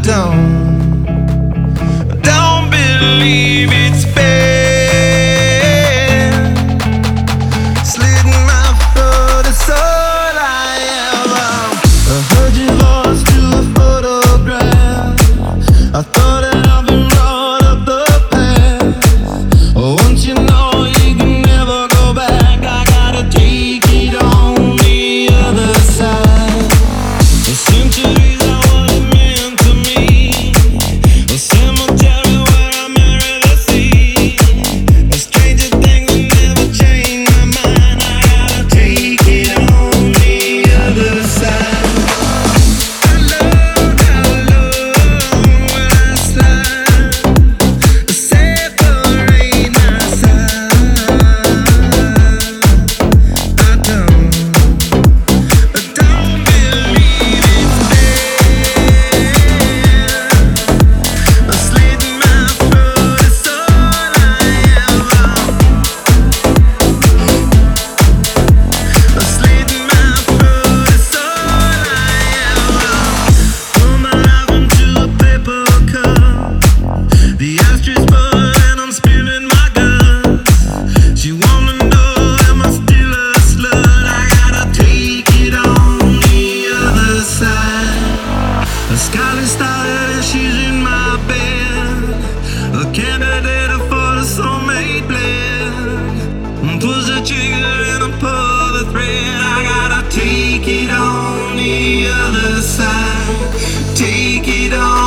don't believe it's fair. Slitting my throat is all I ever. I heard your voice through a photograph. I thought that I've been brought up the past. Once you know you can never go back, I gotta take it on the other side. The centuries are what it meant to me. A cemetery where I marry the sea. A stranger thing that never changed my mind. I gotta take it on the other side. I love when I slide. Separate my side. I don't believe it's fair. Slitting my throat is all I ever. Slitting my throat is all I ever. Pour my life into a paper cup. The ashtray's full and I'm spilling my guts. She wanna know, am I still a slut? I gotta take it on the other side. A scarlet started and she's in my bed. A candidate for the soulmate blend. Push the trigger and I pull the thread. I gotta take it on the other side. Take it on